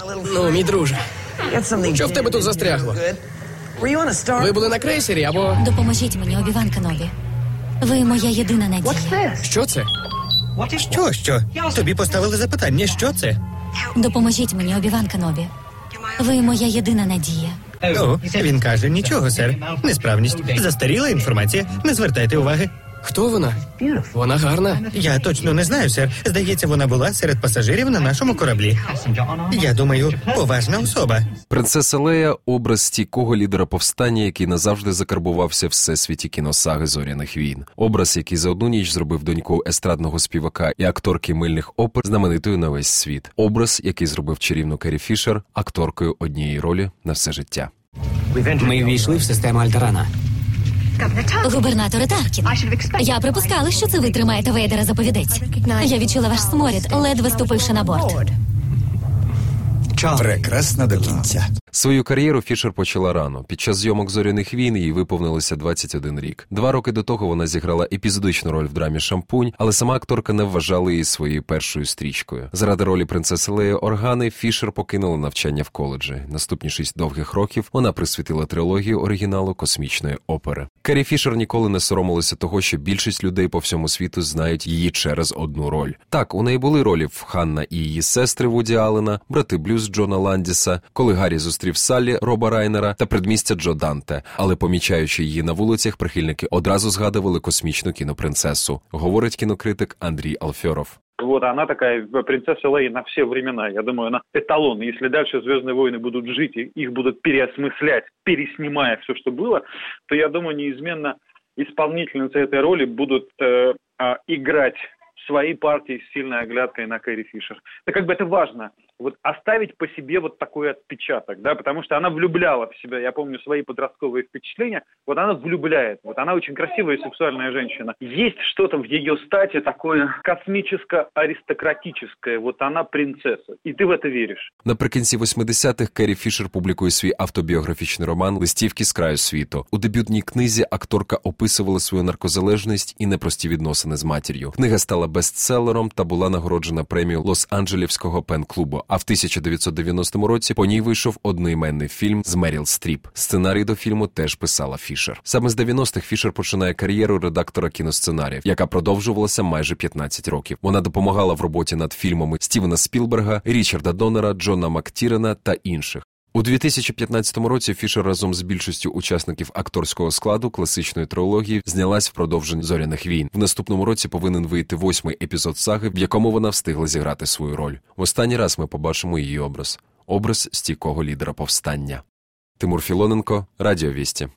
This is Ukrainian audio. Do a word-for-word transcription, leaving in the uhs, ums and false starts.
Ну, мій друже, що в тебе тут застрягло? Ви були на крейсері або... Допоможіть мені, Обі-Ван Кенобі. Ви моя єдина надія. Що це? Що, що? Тобі поставили запитання, що це? Допоможіть мені, Обі-Ван Кенобі. Ви моя єдина надія. О, він каже, нічого, сер. Несправність. Застаріла інформація. Не звертайте уваги. Хто вона? Вона гарна. Я точно не знаю, сер. Здається, вона була серед пасажирів на нашому кораблі. Я думаю, поважна особа. Принцеса Лея – образ стійкого лідера повстання, який назавжди закарбувався в всесвіті кіносаги «Зоряних війн». Образ, який за одну ніч зробив доньку естрадного співака і акторки мильних опер знаменитою на весь світ. Образ, який зробив чарівну Керрі Фішер акторкою однієї ролі на все життя. Ми ввійшли в систему Альтерана. Губернаторе Таркін, я припускала, що це ви тримаєте Вейдера за повідець. Я відчула ваш сморід, ледве ступивши на борт. Прекрасна до кінця. Свою кар'єру Фішер почала рано. Під час зйомок «Зоряних війн» їй виповнилося двадцять один рік. Два роки до того вона зіграла епізодичну роль в драмі «Шампунь», але сама акторка не вважала її своєю першою стрічкою. Заради ролі принцеси Леї Органи Фішер покинула навчання в коледжі. Наступні шість довгих років вона присвятила трилогію оригіналу космічної опери. Керрі Фішер ніколи не соромилася того, що більшість людей по всьому світу знають її через одну роль. Так, у неї були ролі в «Ханна і її сестри» Вуді Аллена, «Брати Блюз» Джона Ландіса, «Коли Гаррі зустрів Саллі» Роба Райнера та «Предмістя» Джо Данте. Але помічаючи її на вулицях, прихильники одразу згадували космічну кінопринцесу, говорить кінокритик Андрій Алферов. Вот она такая принцесса Лея на все времена. Я думаю, она эталон. Если дальше «Звездные войны» будут жить, и их будут переосмыслять, переснимая все, что было, то, я думаю, неизменно исполнительницы этой роли будут э, э, играть свои партии с сильной оглядкой на Керрі Фішер. Это как бы это важно. Вот оставить по себе вот такой отпечаток, да, потому что она влюбляла в себя, я помню свои подростковые впечатления, вот она влюбляет, вот она очень красивая и сексуальная женщина. Есть что-то в ее стати такое космическо-аристократическое, вот она принцесса, и ты в это віриш. Наприкінці восьмидесятих Керрі Фішер публікує свій автобіографічний роман «Листівки з краю світу». У дебютній книзі акторка описувала свою наркозалежність і непрості відносини з матір'ю. Книга стала бестселером та була нагороджена премією Лос-Анджелівського пен-клубу. А в тисяча дев'ятсот дев'яностому році по ній вийшов одноіменний фільм з Меріл Стріп. Сценарій до фільму теж писала Фішер. Саме з дев'яностих Фішер починає кар'єру редактора кіносценаріїв, яка продовжувалася майже п'ятнадцять років. Вона допомагала в роботі над фільмами Стівена Спілберга, Річарда Доннера, Джона Мактірена та інших. У дві тисячі п'ятнадцятому році Фішер разом з більшістю учасників акторського складу класичної трилогії знялась в продовженні «Зоряних війн». В наступному році повинен вийти восьмий епізод саги, в якому вона встигла зіграти свою роль. В останній раз ми побачимо її образ. Образ стійкого лідера повстання. Тимур Філоненко, Радіо Вісті.